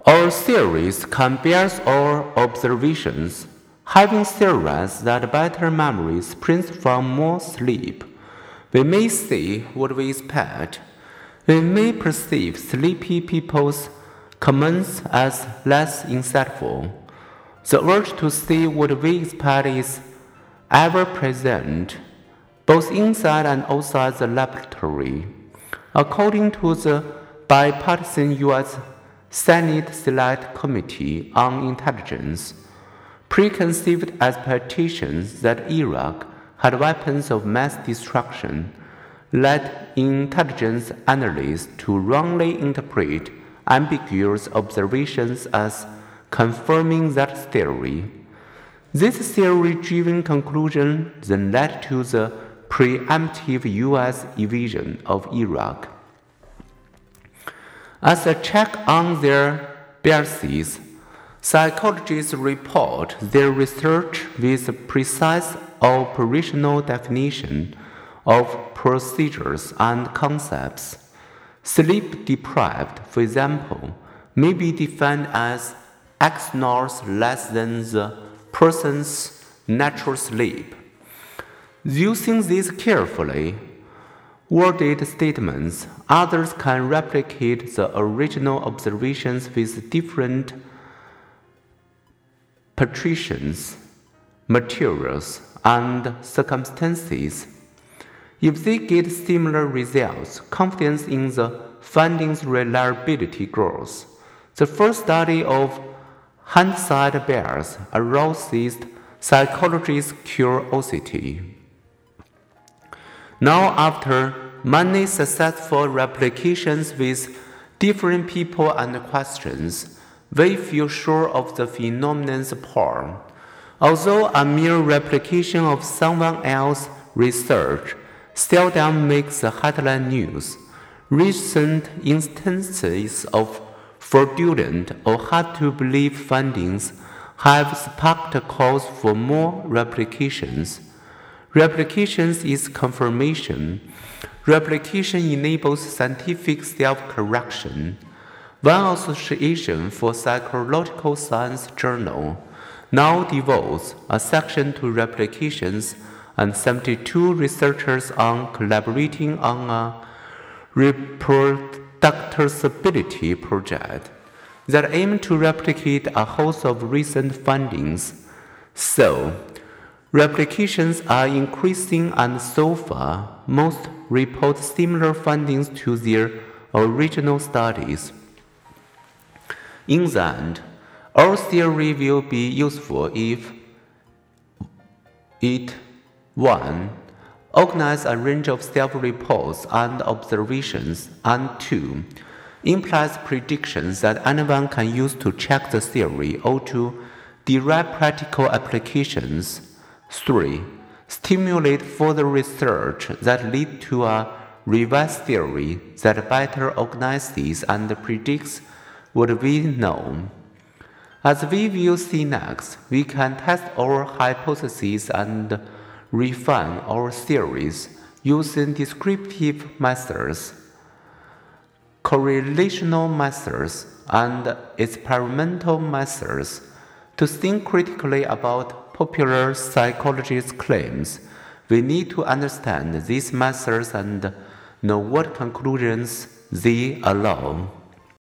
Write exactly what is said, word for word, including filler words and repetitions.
Our theories can bear our observations, having theorized that better memory springs from more sleep. We may see what we expect. We may perceive sleepy people's comments as less insightful. The urge to see what we expect is ever present, both inside and outside the laboratory. According to the bipartisan U S Senate Select Committee on Intelligence, preconceived expectations that Iraq had weapons of mass destruction led intelligence analysts to wrongly interpret ambiguous observations as confirming that theory. This theory-driven conclusion then led to the preemptive U S invasion of Iraq. As a check on their biases, psychologists report their research with precise operational definition of procedures and concepts. Sleep deprived, for example, may be defined as X hours less than the person's natural sleep. Using these carefully worded statements, others can replicate the original observations with different patricians, materials, and circumstances. If they get similar results, confidence in the findings' reliability grows. The first study of hindsight bias aroused psychologists' curiosity. Now, after many successful replications with different people and questions, we feel sure of the phenomenon's power. Although a mere replication of someone else's research seldom makes the headline news, recent instances of fraudulent or hard-to-believe findings have sparked calls for more replications. Replications is confirmation. Replication enables scientific self-correction. One Association for Psychological Science journal now devotes a section to replications, and seventy-two researchers are collaborating on a reproducibility project that aims to replicate a host of recent findings. So, replications are increasing, and so far, most report similar findings to their original studies. In the end, our theory will be useful if it one. Organize a range of self-reports and observations, and two. Implies predictions that anyone can use to check the theory or to derive practical applications. three. Stimulate further research that lead to a revised theory that better organizes and predicts what we know. As we will see next, we can test our hypotheses and refine our theories using descriptive methods, correlational methods, and experimental methods. To think critically about popular psychology's claims, we need to understand these methods and know what conclusions they allow.